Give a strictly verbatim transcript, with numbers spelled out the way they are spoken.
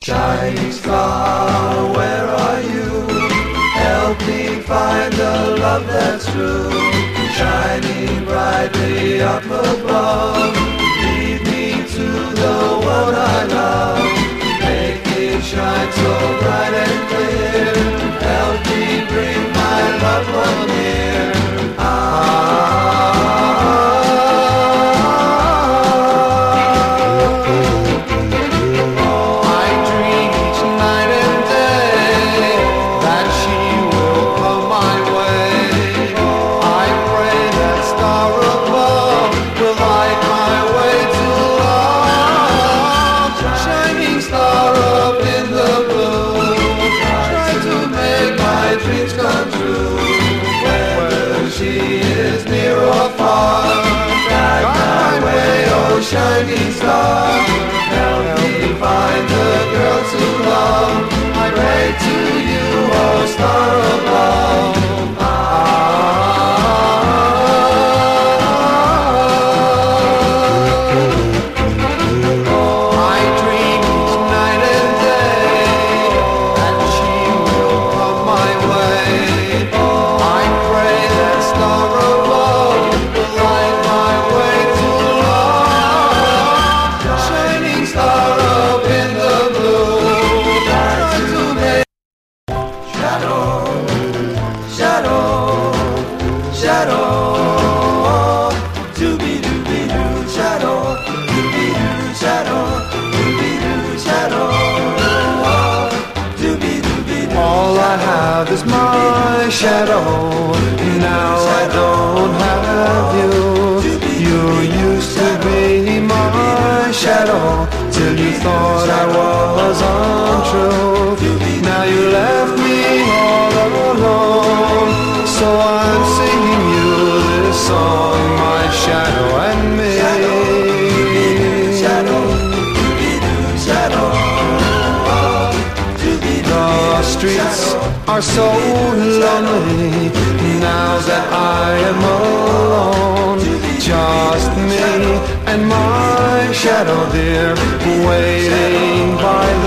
Shining star, where are you? Help me find the love that's true. Shining brightly up above, lead me to the one I love. Make it shine so bright and clear. Help me bring my loved one near. Shining star, help me find the girl to love. I pray to you, oh star above. Ah, oh, I dream each night and day that she will come my way. I pray that star above will light my way to star up in the blue, try to make shadow, shadow, shadow, dooby-dooby-doo, shadow, dooby-doo, shadow, dooby-doo, shadow, dooby-dooby-doo. All I have is my shadow, now I don't have you. You used to be my shadow, till you thought I was untrue. Now you left me all alone, so I'm singing you this song, my shadow and me. The streets are so lonely now that I am alone. Just me and my shadow, dear, waiting by